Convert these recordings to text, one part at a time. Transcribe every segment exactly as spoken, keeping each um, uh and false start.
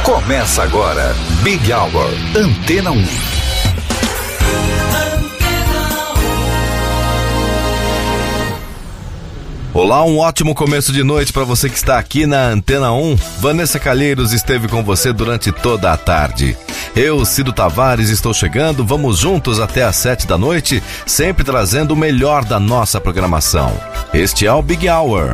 Começa agora, Big Hour, Antena um. Olá, um ótimo começo de noite para você que está aqui na Antena um. Vanessa Calheiros esteve com você durante toda a tarde. Eu, Cido Tavares, estou chegando. Vamos juntos até às sete da noite, sempre trazendo o melhor da nossa programação. Este é o Big Hour.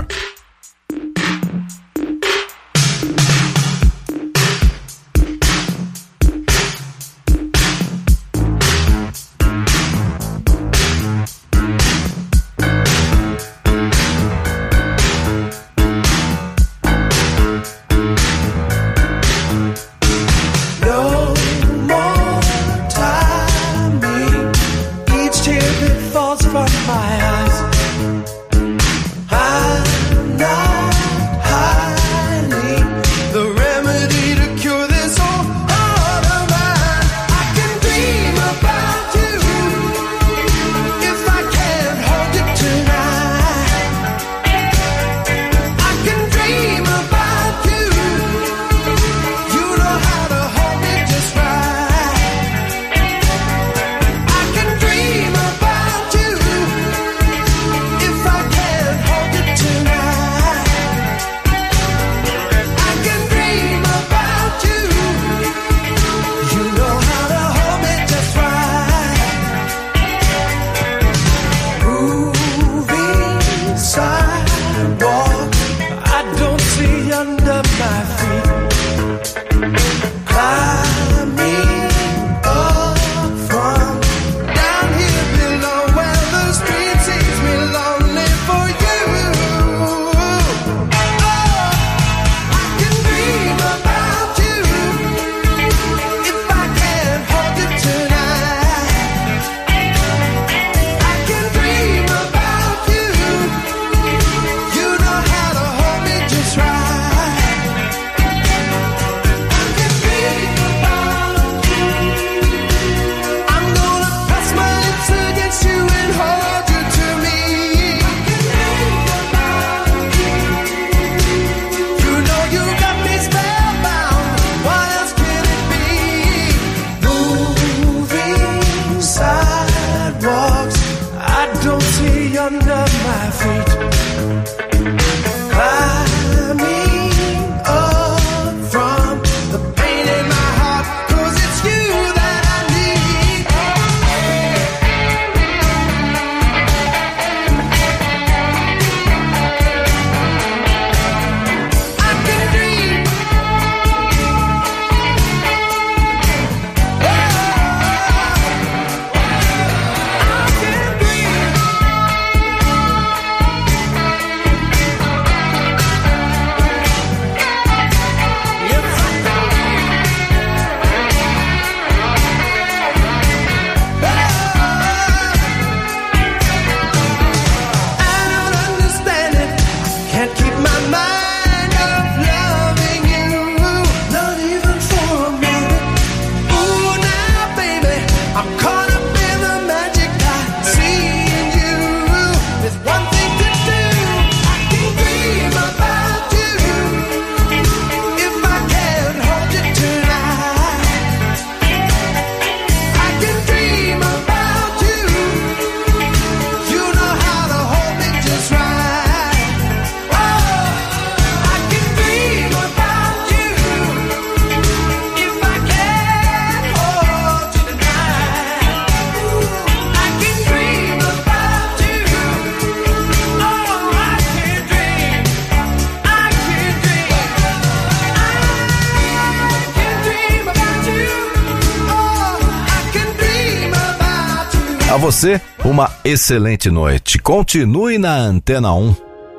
A você, uma excelente noite. Continue na Antena um.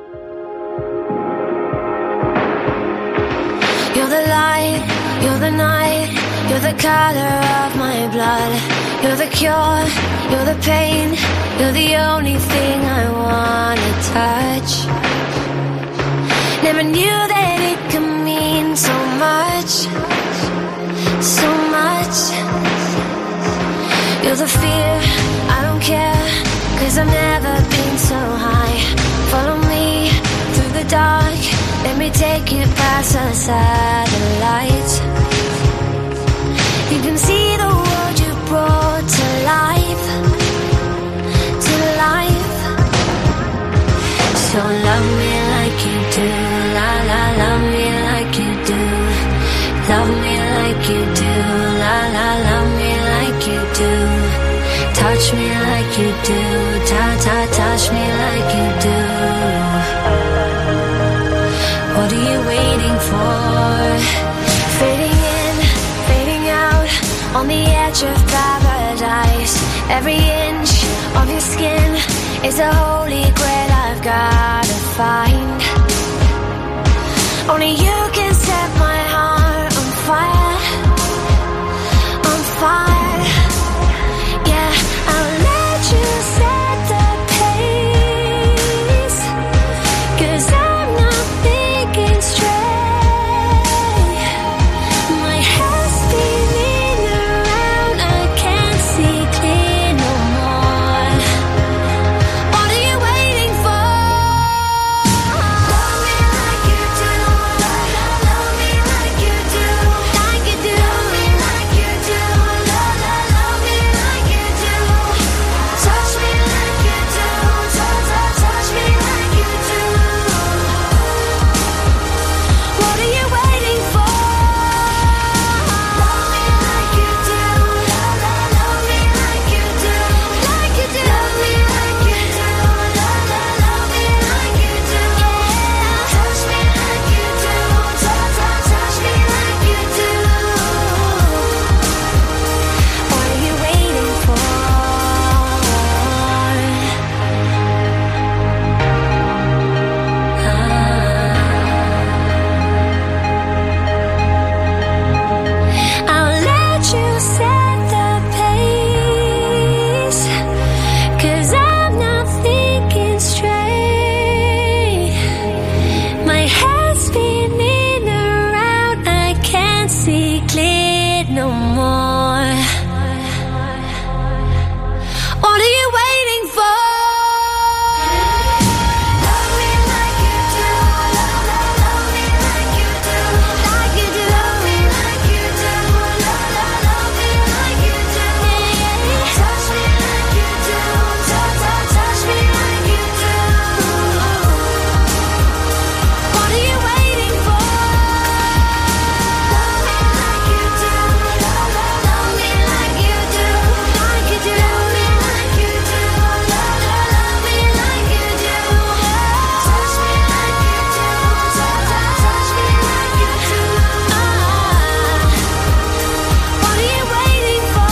You're the light, you're the night, you're the color of my blood. You're the cure, you're the pain, you're the only thing I wanna touch. Never knew that it could mean so much, so much. You're the fear, I don't care, 'cause I've never been so high. Follow me through the dark, let me take you past the satellites. Love me like you do, la la, love me like you do. Touch me like you do, ta ta, touch me like you do. What are you waiting for? Fading in, fading out, on the edge of paradise. Every inch of your skin is a holy grail I've gotta find. Only you can set my heart on fire, on fire. Yeah, I'll let you set the pace, 'cause I'm not thinking straight. My head's spinning around, I can't see clear no more. What are you waiting for? Love me like you do, love, love, love me like you do, like you do. Love me like you do, love, love, love me like you do. Touch me like you do, touch, touch, touch me like you do. What are you waiting for? Love me like you do, love, love, love me like you do, like you do. Love me like you do, love, love, love me like you do. Yeah, touch me like you do, touch, touch, touch me like you do. What are you waiting for? I'll let you set the pace, 'cause I'm not thinking straight. My head's spinning around, I can't see clear no more. What are you waiting for? Love me like you do, love, love, love me like you do, like you do. Love me like you do, love, love, love me like you do. Touch me like you do, touch, touch, touch me like you do. What are you waiting for? Love me like you do, love, love, love me like you do, like you do. Love me like you do, love, love, love me like you do. Touch me like you do, touch, touch, touch me like you do. What are you waiting for?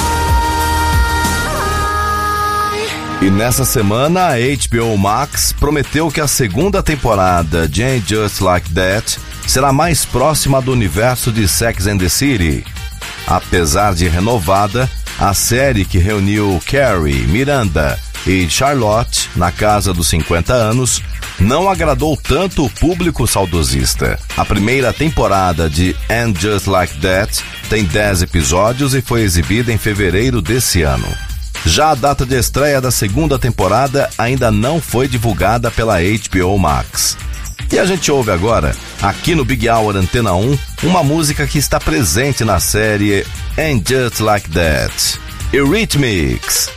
E nessa semana, a H B O Max prometeu que a segunda temporada de Ain't Just Like That será mais próxima do universo de Sex and the City. Apesar de renovada, a série que reuniu Carrie, Miranda e Charlotte na casa dos cinquenta anos não agradou tanto o público saudosista. A primeira temporada de Ain't Just Like That tem dez episódios e foi exibida em fevereiro desse ano. Já a data de estreia da segunda temporada ainda não foi divulgada pela H B O Max. E a gente ouve agora, aqui no Big Hour Antena um, uma música que está presente na série Ain't Just Like That, Eurythmics.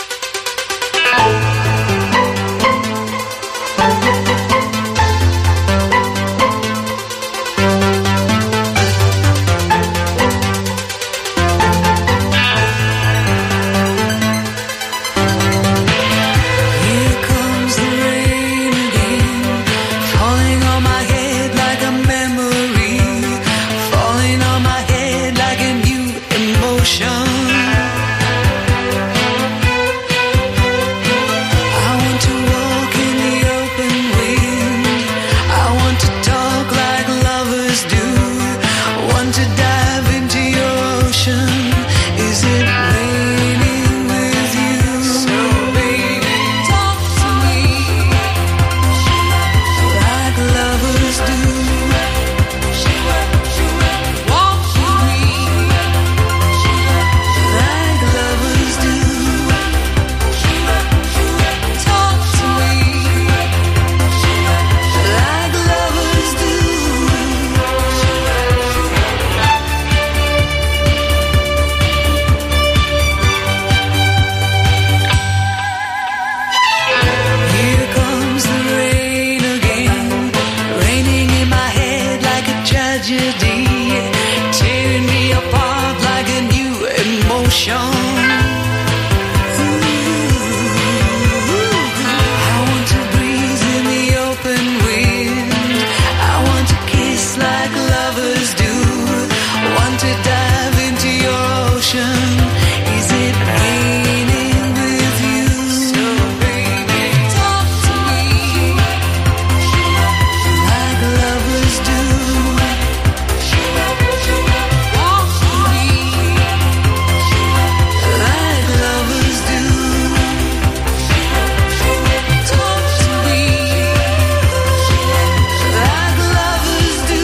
Here comes the rain again, falling on my head like a memory, falling on my head like a new emotion. emotion. I want to breathe in the open wind. I want to kiss like lovers do. Want to dive into your ocean. Is it raining with you? So baby, talk to me like lovers do. Walk with me like lovers do. Talk to me like lovers do.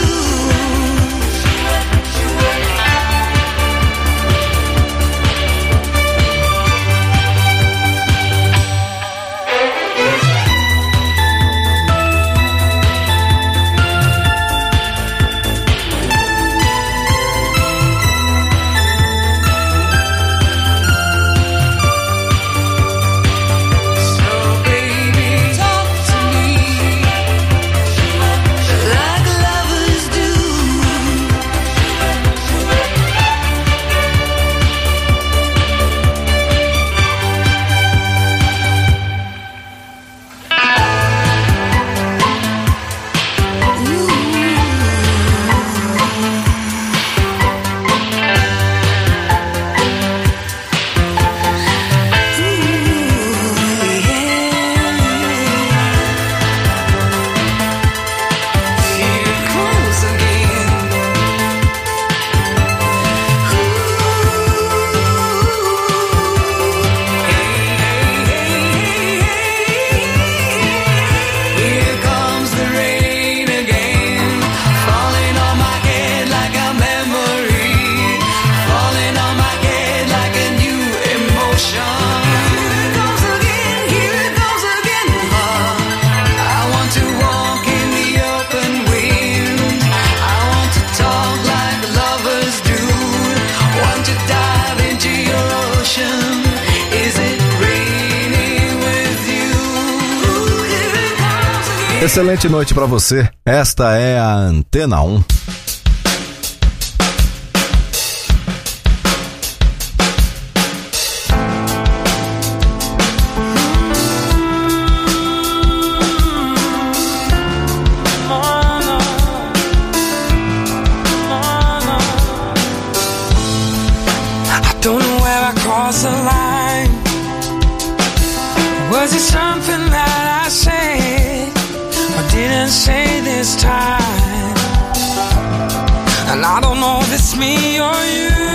So baby, talk to me like lovers do. Here it comes again. Here comes the rain again, falling on my head like a memory, falling on my head like a new emotion. Here it comes again, here it comes again. I want to walk in the open wind. I want to talk like lovers do. Want to dive into your ocean. Is it raining with you? Here it comes again. Excelente noite pra você. Esta é a Antena um. I don't know where I crossed the line. Was it something that I said or didn't say this time? And I don't know if it's me or you,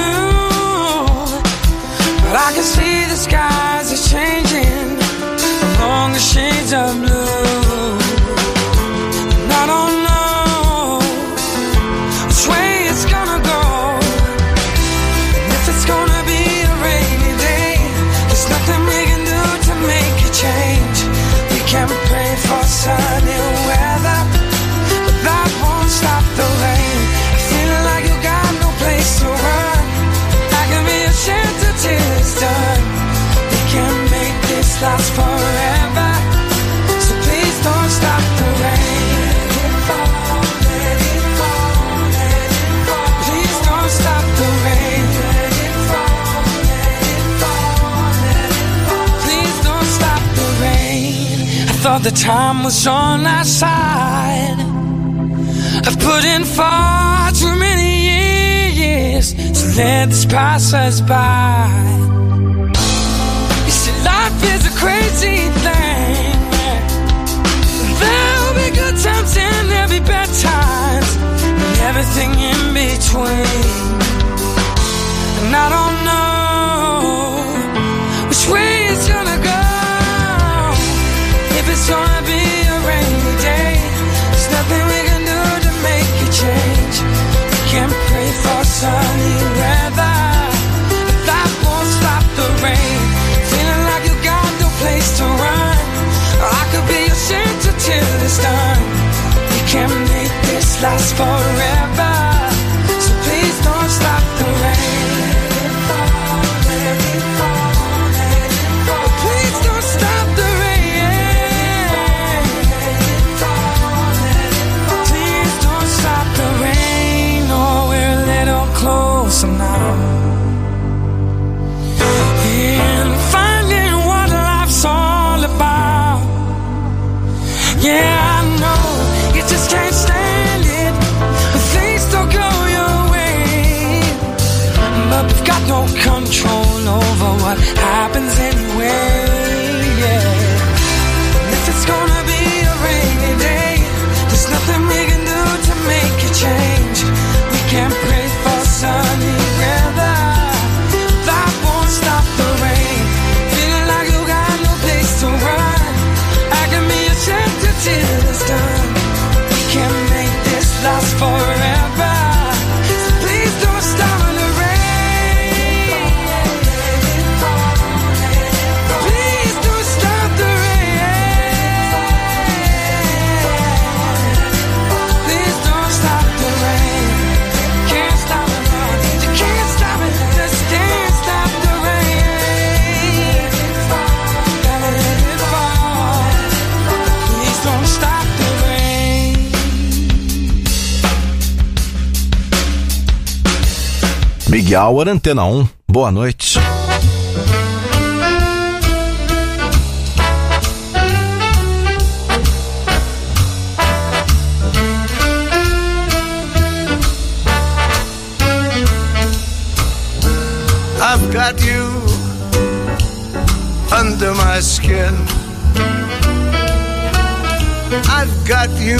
but I can see the skies are changing along the shades of blue. And I don't know which way it's gonna go. If it's gonna be a rainy day, there's nothing we can do to make a change. We can pray for sunny weather, but that won't stop the rain. Feeling like you got no place to run. I can be a shelter till it's done. We can make this last forever, so please don't stop the rain. Let it fall, let it fall, let it fall. Please don't stop the rain. Let it fall, let it fall, let it fall. Please don't stop the rain. I thought the time was on our side. I've put in far too many years to let this pass us by. You see, life is a crazy thing. There'll be good times and there'll be bad times, and everything in between. And I don't know which way it's gonna go. If it's gonna be a rainy day, there's nothing we can do to make a change. We can pray for sunny weather, but that won't stop the rain. Feeling like you got no place to run. I could be a shelter till it's done. We can make this last forever, so please don't stop the rain. Let it fall, let it fall, let it fall. Please don't stop the rain. Let it fall, let it fall. Please don't stop the rain. 'Cause I'm now got no control over what happens anyway, yeah. And if it's gonna be a rainy day, there's nothing we can do to make it change. We can't pray for sunny weather, that won't stop the rain. Feeling like you got no place to run, I can be a shelter till it's done. We can't make this last forever, so please don't stop the rain. Please don't stop the rain. Please don't stop the rain. Can't stop it, Lord. You can't stop it. Just can't stop the rain. Gotta let it fall. Please don't stop the rain. Big Hour, Antena um. Boa noite. I've got you under my skin. I've got you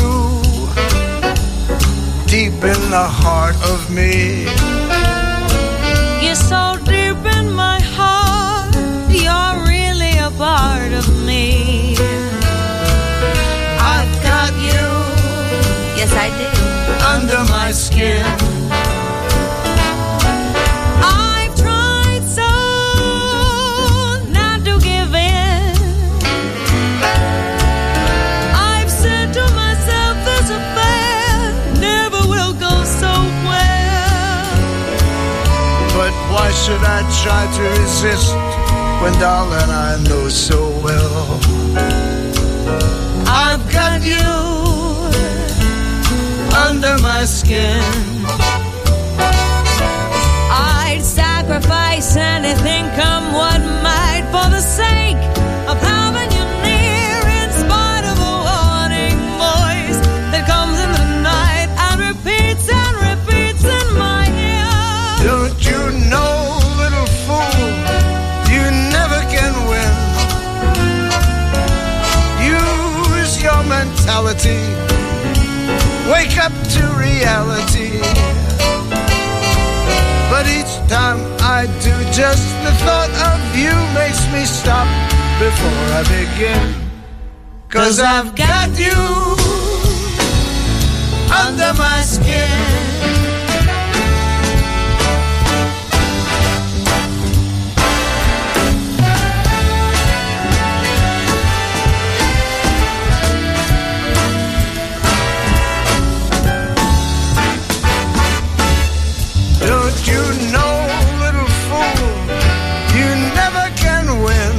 deep in the heart of me. You're so deep in my heart, you're really a part of me. I've got you Yes, I do. under my skin. I've tried so not to give in. I've said to myself this affair never will go so well. But why should I try to resist when, darling, I know so well I've got you under my skin. I'd sacrifice anything, come what might, for the sake of having you near, in spite of a warning voice that comes in the night and repeats and repeats in my ear. Don't you know, little fool, you never can win. Use your mentality, wake up to reality. But each time I do, just the thought of you makes me stop before I begin. Cause I've got you under my skin. Don't you know, little fool, you never can win.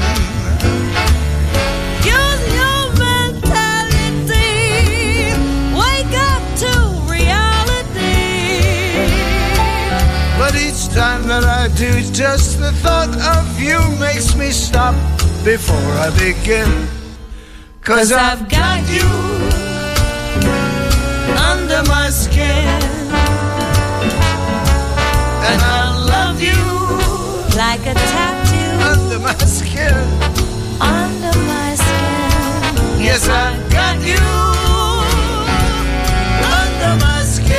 Use your mentality, wake up to reality. But each time that I do, just the thought of you makes me stop before I begin. Cause I've got you under my skin. And I love you Like a tattoo under my skin. under my skin. Yes, I've got you under my skin.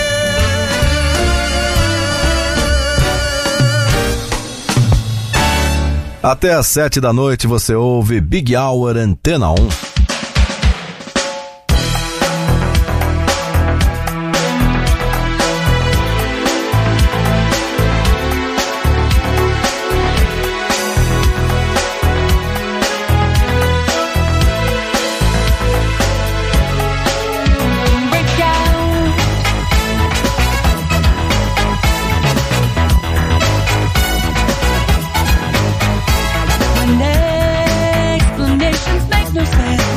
Até às sete da noite você ouve Big Hour, Antena um. Explanations make no sense.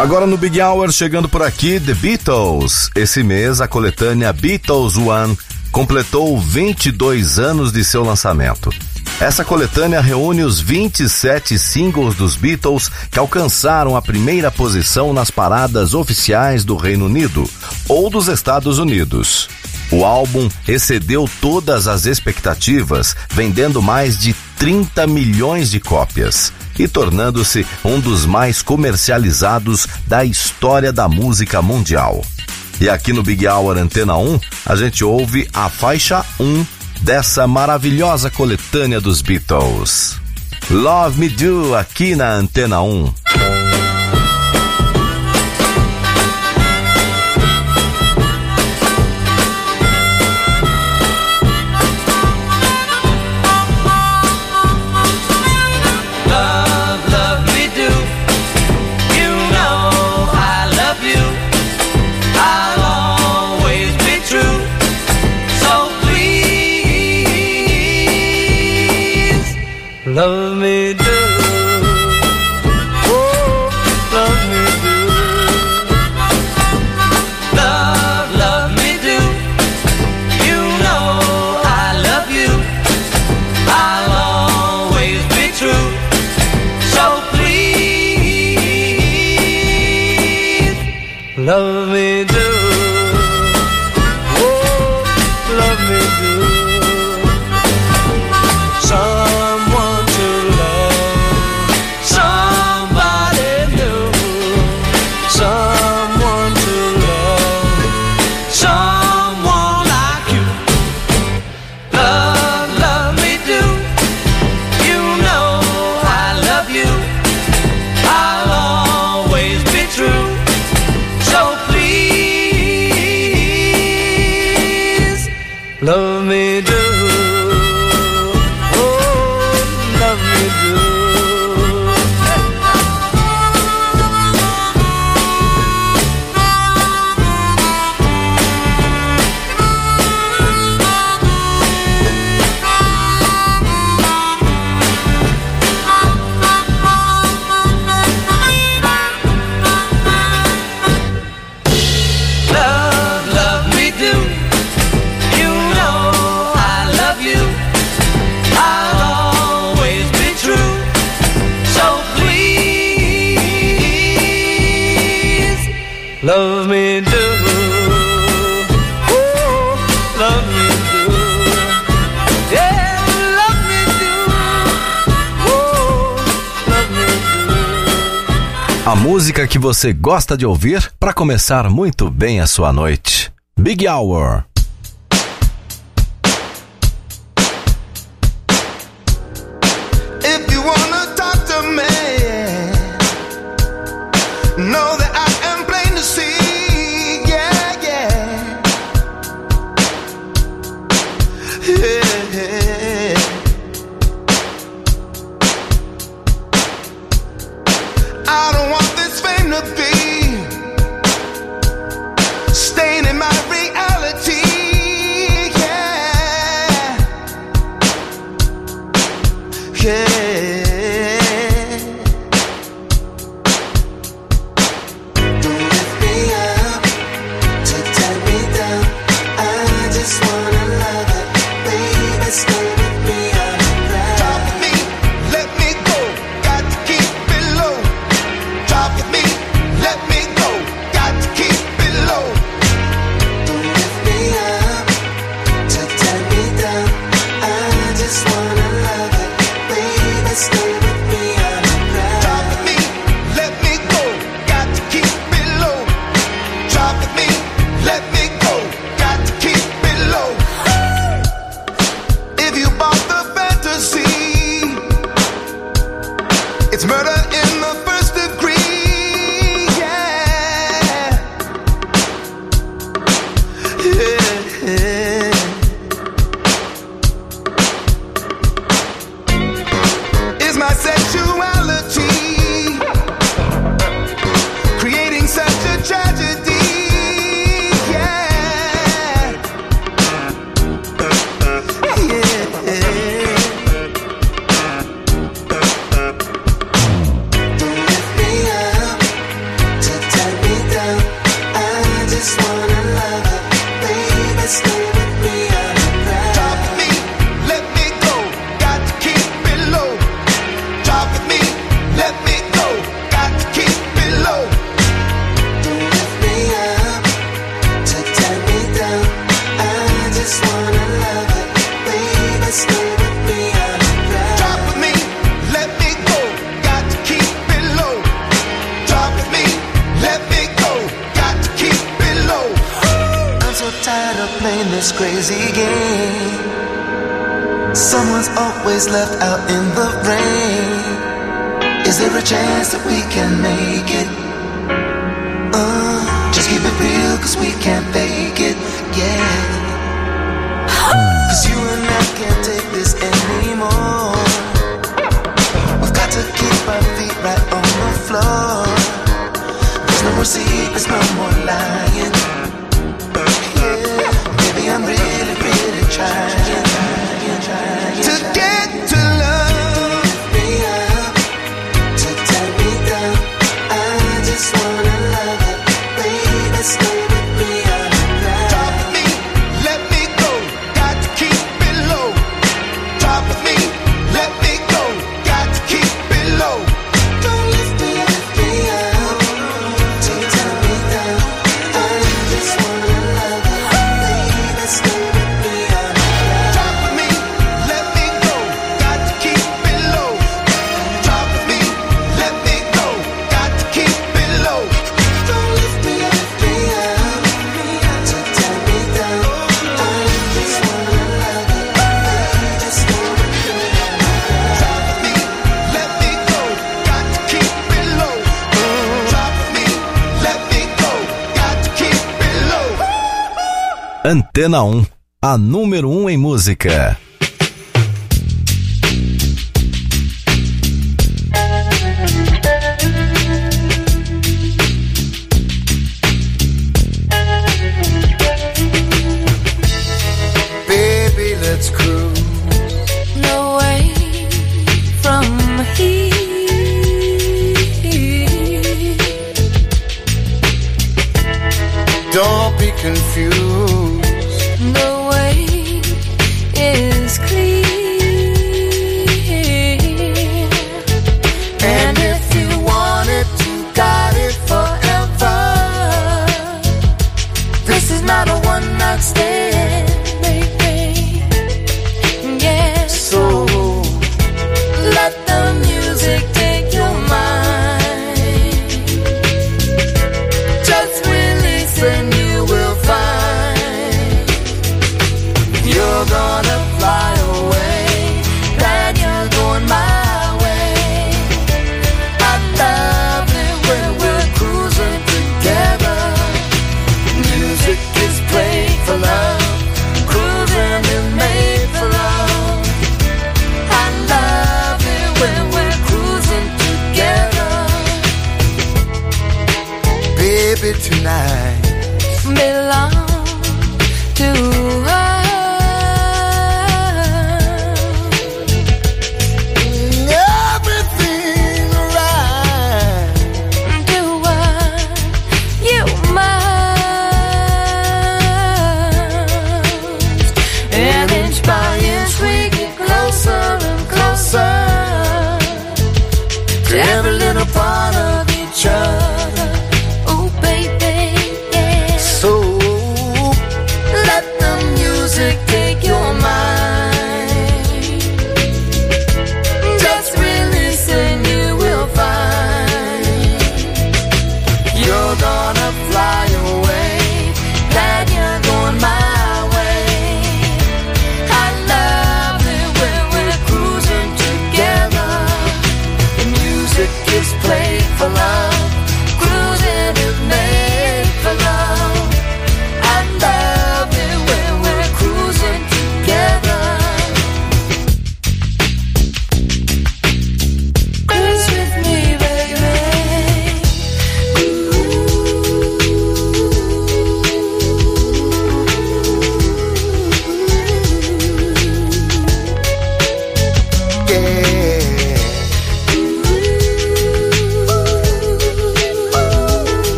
Agora no Big Hour, chegando por aqui, The Beatles. Esse mês, a coletânea Beatles One completou vinte e dois anos de seu lançamento. Essa coletânea reúne os vinte e sete singles dos Beatles que alcançaram a primeira posição nas paradas oficiais do Reino Unido ou dos Estados Unidos. O álbum excedeu todas as expectativas, vendendo mais de trinta milhões de cópias e tornando-se um dos mais comercializados da história da música mundial. E aqui no Big Hour Antena um, a gente ouve a faixa um dessa maravilhosa coletânea dos Beatles. Love Me Do, aqui na Antena um. Love me do, oh, love me do. Love, love me do. You know I love you. I'll always be true. So please, love me do. Oh, love me do. Someone to love, somebody new. Someone to love, someone like you. Love, love me do. You know I love you. I'll always be true. So please, love me do. Love me do, oh, love me do, yeah, love me do, oh, love me do. A música que você gosta de ouvir para começar muito bem a sua noite. Big Hour. If you wanna talk to me, know that I am plain to see, yeah, yeah, yeah. I don't want this fame to be staining my reality. of playing this crazy game. Someone's always left out in the rain. Is there a chance that we can make it? Uh, just keep it real, cause we can't fake it, yeah. Cause you and I can't take this anymore. We've got to keep our feet right on the floor. There's no more secrets, no more lying. Yeah, baby, I'm really, really trying, trying, trying to get to love me up, to tie me down. I just wanna love it, baby, stay with me all night. Drop me, let me go, got to keep it low. Drop me, let me go, got to keep it low. Don't lift me, lift me up, to tie me down. I just wanna love it, baby, stay with me all night. Drop me, let me go, got to keep it low. Drop me, let me go, got to keep it low. Don't lift me, lift me up, to tie me down. I just wanna love it, baby, stay with me all night. Drop me, let me go, got to keep it low. Drop me, let me go, got to keep it low. Antena um, a número um em música. Baby, let's cruise. No way from here. Don't be confused. The way is clear. And if you want it, you got it forever. This is not a one night stand, Baby, yeah. so Let the music take your mind. just release and you will find you're gonna fly away. Glad you're going my way. I love it when we're cruising together. Music is played for love. Cruising is made for love. I love it when we're cruising together. Baby, tonight Belong to us. everything right. Do what you must. And inch by inch we get closer and closer To every little part of each other. Oh baby, yeah. So let the music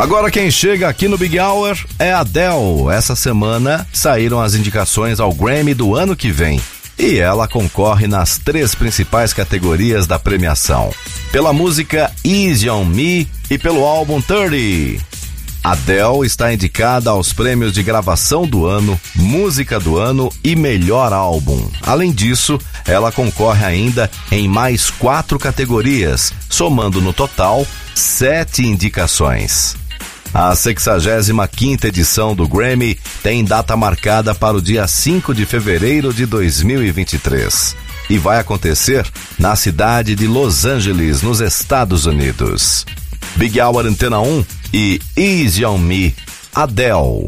Agora quem chega aqui no Big Hour é a Adele. Essa semana saíram as indicações ao Grammy do ano que vem. E ela concorre nas três principais categorias da premiação. Pela música Easy on Me e pelo álbum trinta. Adele está indicada aos prêmios de gravação do ano, música do ano e melhor álbum. Além disso, ela concorre ainda em mais quatro categorias, somando no total sete indicações. A sexagésima quinta edição do Grammy tem data marcada para o dia cinco de fevereiro de dois mil e vinte e três e vai acontecer na cidade de Los Angeles, nos Estados Unidos. Big Hour Antena um e Easy on Me, Adele.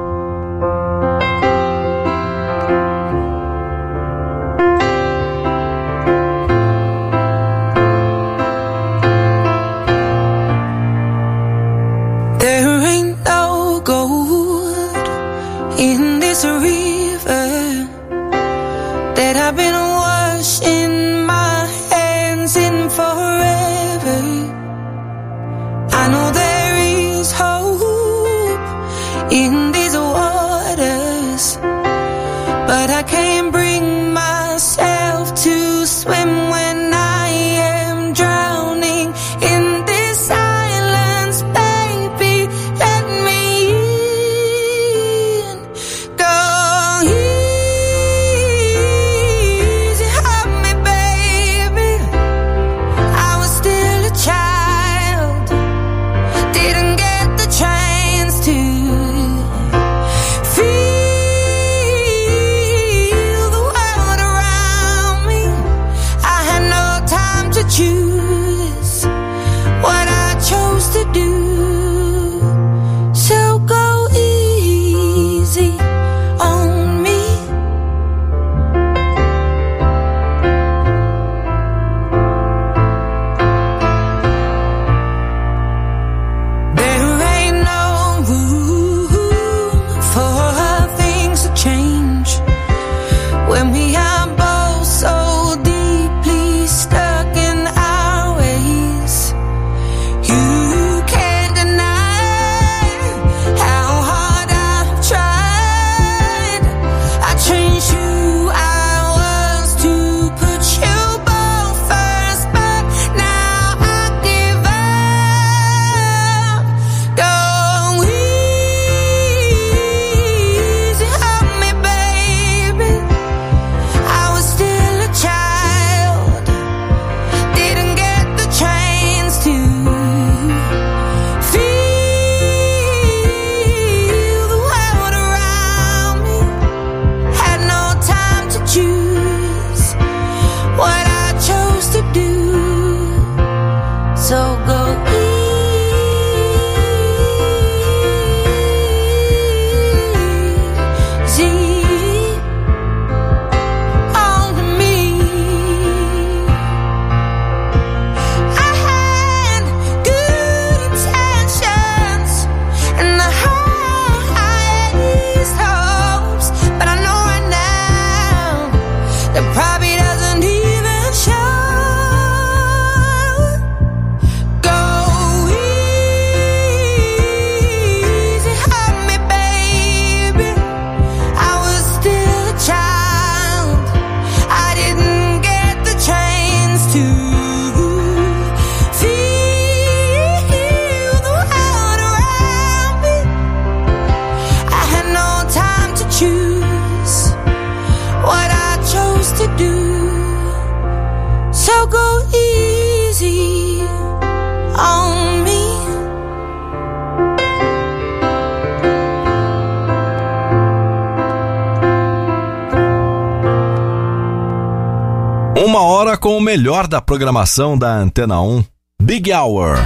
Uma hora com o melhor da programação da Antena um, Big Hour.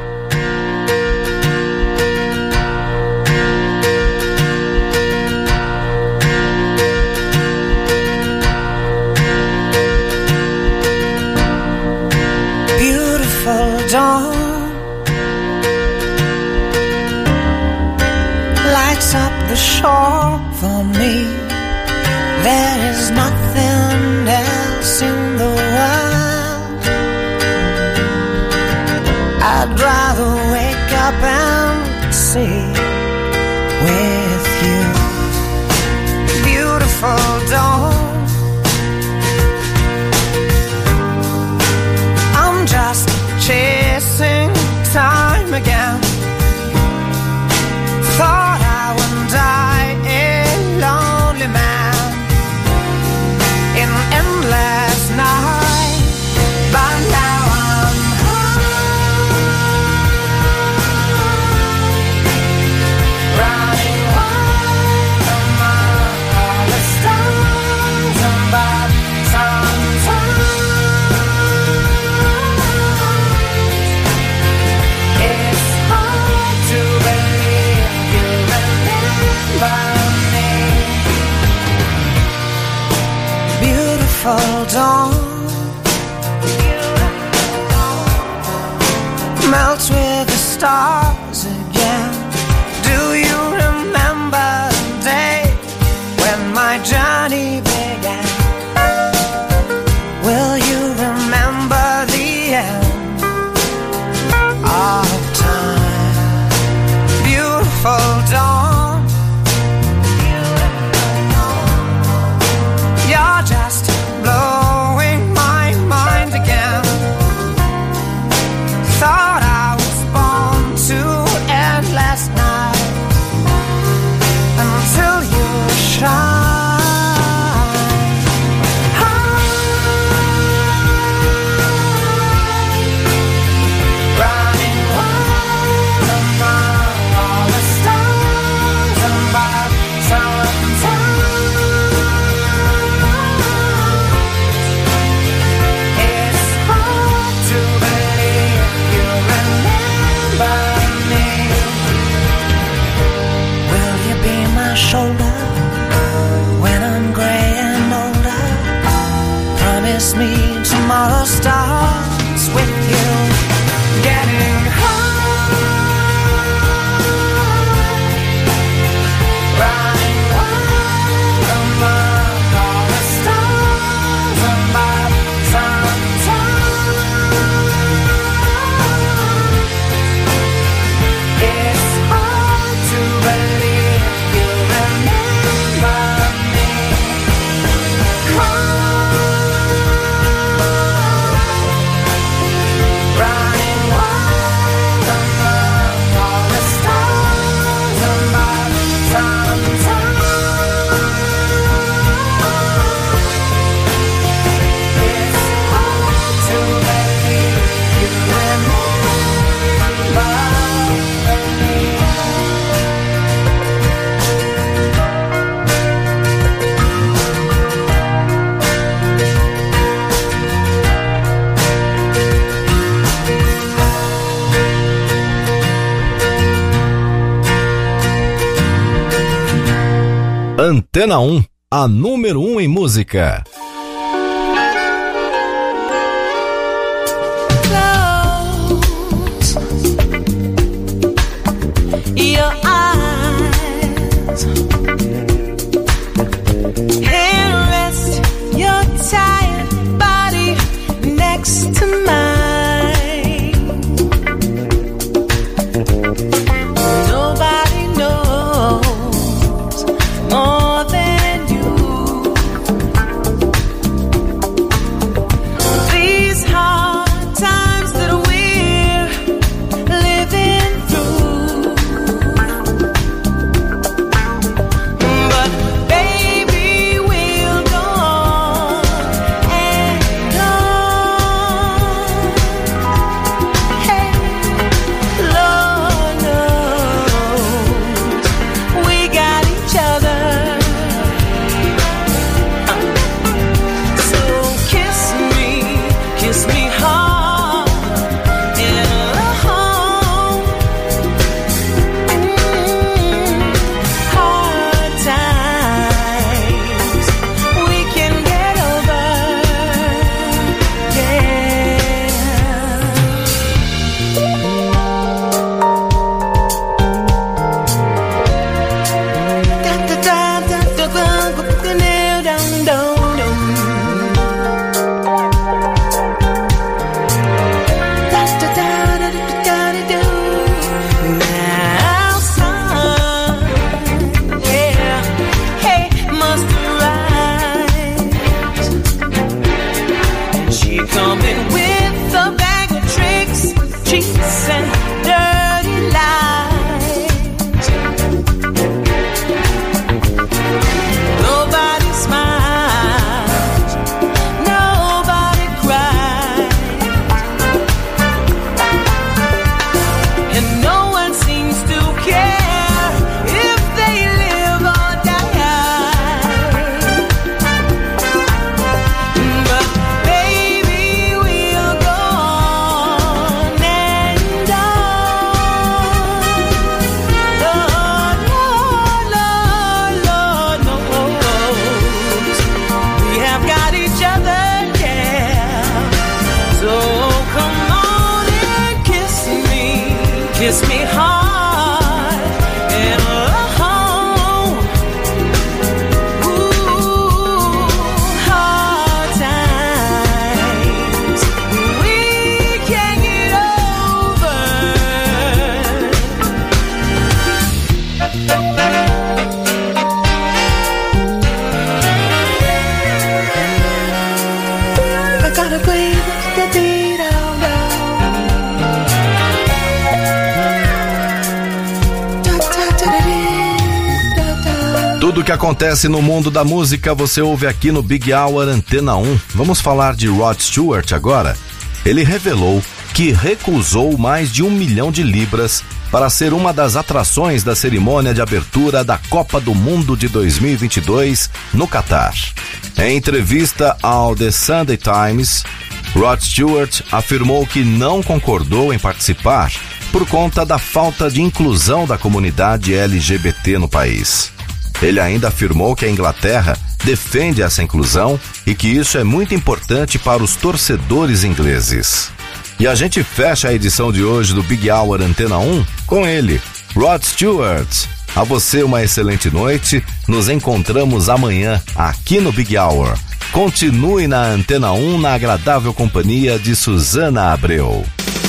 Beautiful dawn lights up the shore for me. There is nothing else in the world. I'd rather wake up and with you. Beautiful dawn, I'm just chasing time again. Thought I would die a lonely man in endless night, but now I'm high, running wild among all the stars above. Sometimes it's hard to believe you remember me. Beautiful dawn melts with the stars again. Do you remember the day when my journey began? Will you remember the end of time? Beautiful dawn, you're just blowing my mind again. Thought I was born to end last night until you shine. Running wild among all the stars above. Sometimes it's hard to believe you remember me. Will you be my shoulder when I'm gray and older? Promise me tomorrow starts with you getting high, running wild among all the stars above. Sometimes it's hard to believe you remember me. Running wild among all the stars above. Sometimes it's hard to believe you remember me. Antena um, a número um em música. Close your eyes and rest your tired body next to mine. Nobody knows more than you Tudo que acontece no mundo da música você ouve aqui no Big Hour Antena um. Vamos falar de Rod Stewart agora. Ele revelou que recusou mais de um milhão de libras para ser uma das atrações da cerimônia de abertura da Copa do Mundo de dois mil e vinte e dois no Catar. Em entrevista ao The Sunday Times, Rod Stewart afirmou que não concordou em participar por conta da falta de inclusão da comunidade L G B T no país. Ele ainda afirmou que a Inglaterra defende essa inclusão e que isso é muito importante para os torcedores ingleses. E a gente fecha a edição de hoje do Big Hour Antena um com ele, Rod Stewart. A você uma excelente noite, nos encontramos amanhã aqui no Big Hour. Continue na Antena um na agradável companhia de Susana Abreu.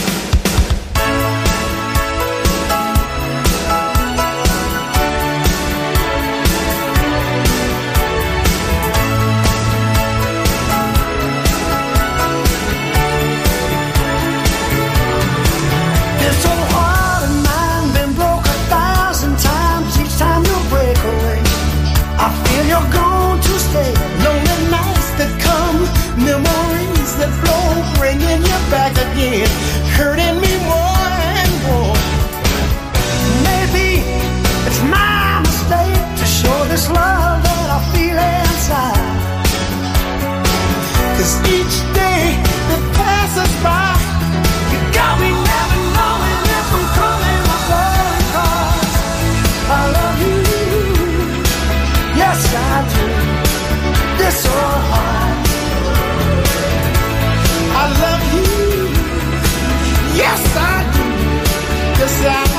Hurting me more and more. Maybe it's my mistake to show this love that I feel inside. 'Cause each day that passes by, you got me never knowing if I'm coming or going. 'Cause I love you, yes I do, this so hard. I love you, yes I do, yes I do.